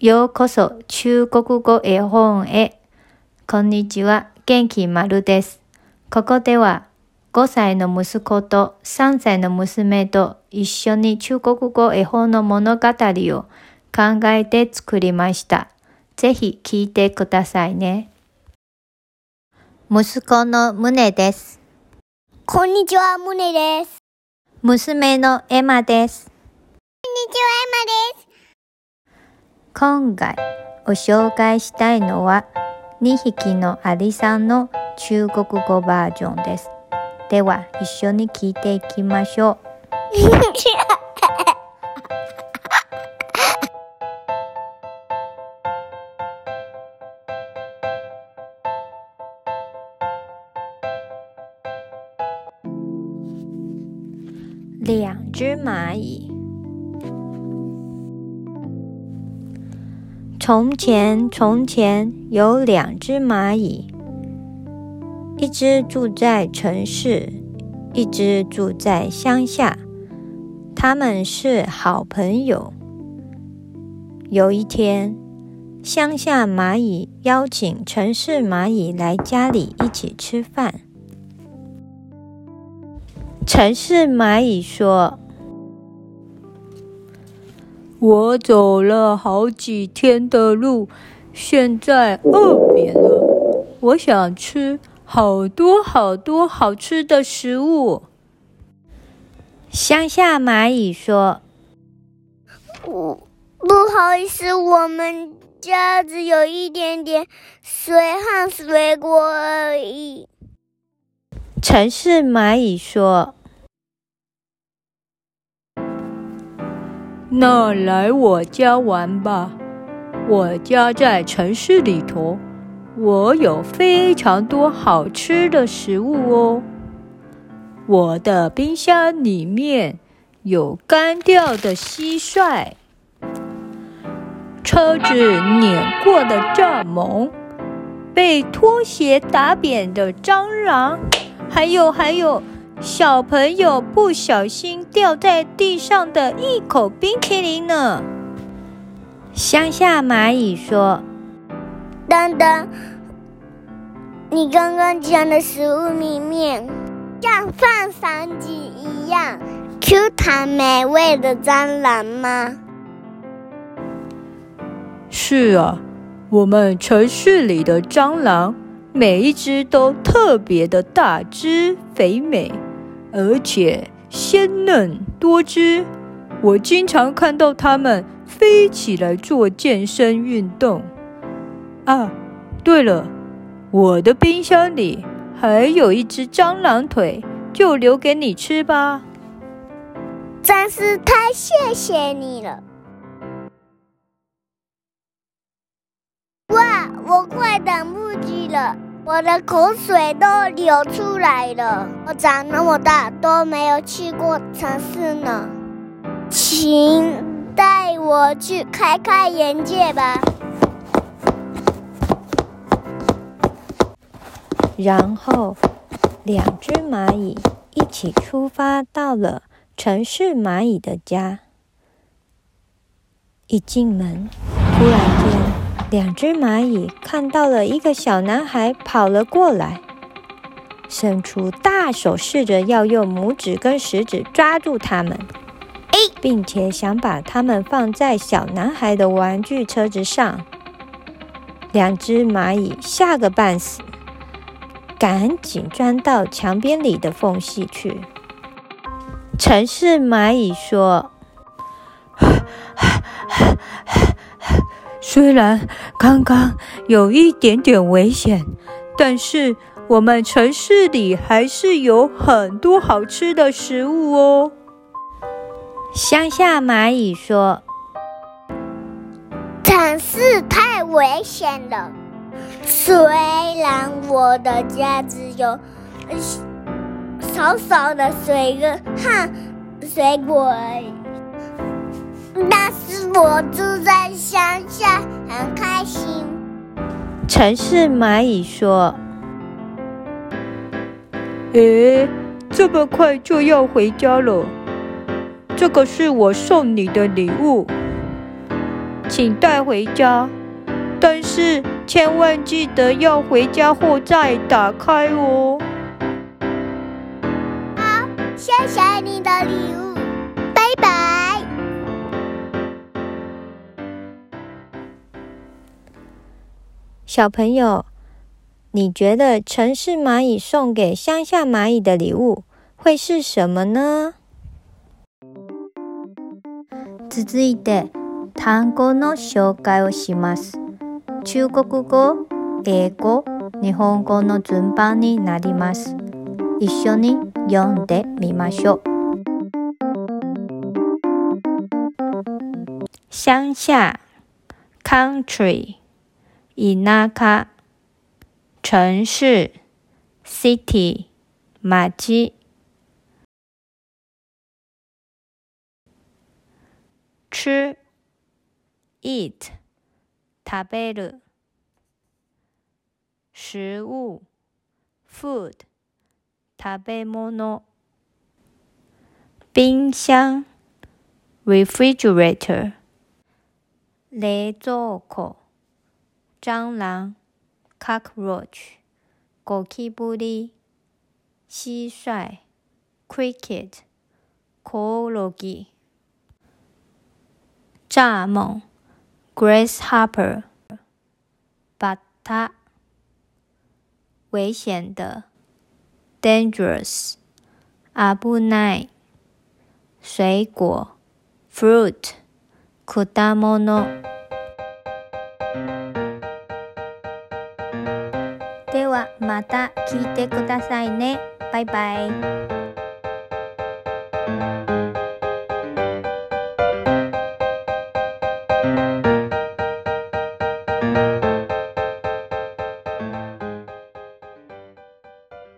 ようこそ中国語絵本へ。こんにちは、元気丸です。ここでは5歳の息子と3歳の娘と一緒に中国語絵本の物語を考えて作りました。ぜひ聞いてくださいね。息子のムネです。 こんにちは、ムネです。 娘のエマです。 こんにちは、エマです。 今回お紹介したいのは2匹のアリさんの中国語バージョンです。では一緒に聞いていきましょう。两只蚂蚁。从前，从前有2只蚂蚁，一只住在城市，一只住在乡下。他们是好朋友。有一天，乡下蚂蚁邀请城市蚂蚁来家里一起吃饭。城市蚂蚁说：“我走了好几天的路，现在饿扁了，我想吃好多好多好吃的食物。”乡下蚂蚁说：“ 不好意思，我们家只有一点点水和水果而已。” 城市蚂蚁说：“那来我家玩吧，我家在城市里头，我有非常多好吃的食物哦。我的冰箱里面有干掉的蟋蟀，车子碾过的蚱蜢，被拖鞋打扁的蟑螂，还有小朋友不小心掉在地上的一口冰淇淋呢。”乡下蚂蚁说：“ 等等，你刚刚讲的食物里面，像放闪机一样 Q 弹美味的蟑螂吗？”“ 是啊，我们城市里的蟑螂每一只都特别的大只肥美，而且鲜嫩多汁。我经常看到它们飞起来做健身运动。啊，对了，我的冰箱里还有一只蟑螂腿，就留给你吃吧。”“ 真是太谢谢你了。”“哇，我快等不及了，我的口水都流出来了。我长那么大都没有去过城市呢，请带我去开开眼界吧。” 然后2只蚂蚁一起出发到了城市蚂蚁的家。一进门，突然间2只蚂蚁看到了一个小男孩跑了过来，伸出大手，试着要用拇指跟食指抓住它们，并且想把它们放在小男孩的玩具车子上。2只蚂蚁吓个半死，赶紧钻到墙边里的缝隙去。城市蚂蚁说：“虽然刚刚有一点点危险，但是我们城市里还是有很多好吃的食物哦。”乡下蚂蚁说：“ 城市太危险了，虽然我的家只有少少的水和水果而已，但是我住在乡下，很开心。” 城市蚂蚁说：“诶，这么快就要回家了？这个是我送你的礼物。” 请带回家，但是千万记得要回家后再打开哦。 好，谢谢你的礼物，拜拜。 小朋友，你觉得城市蚂蚁送给乡下蚂蚁的礼物会是什么呢？続いて単語の紹介をします。中国語、英語、日本語の順番になります。一緒に読んでみましょう。乡下 country 田舎城市 city 町吃 eat 食べる食物 food 食べ物冰箱 refrigerator 冷蔵庫蟑螂 cockroach ゴキブリ蟋蟀 cricket コオロギ蚱蜢 grasshopper バッタ危险的 dangerous 危ない水果 fruit 果物ではまた聞いてくださいね。バイバイ。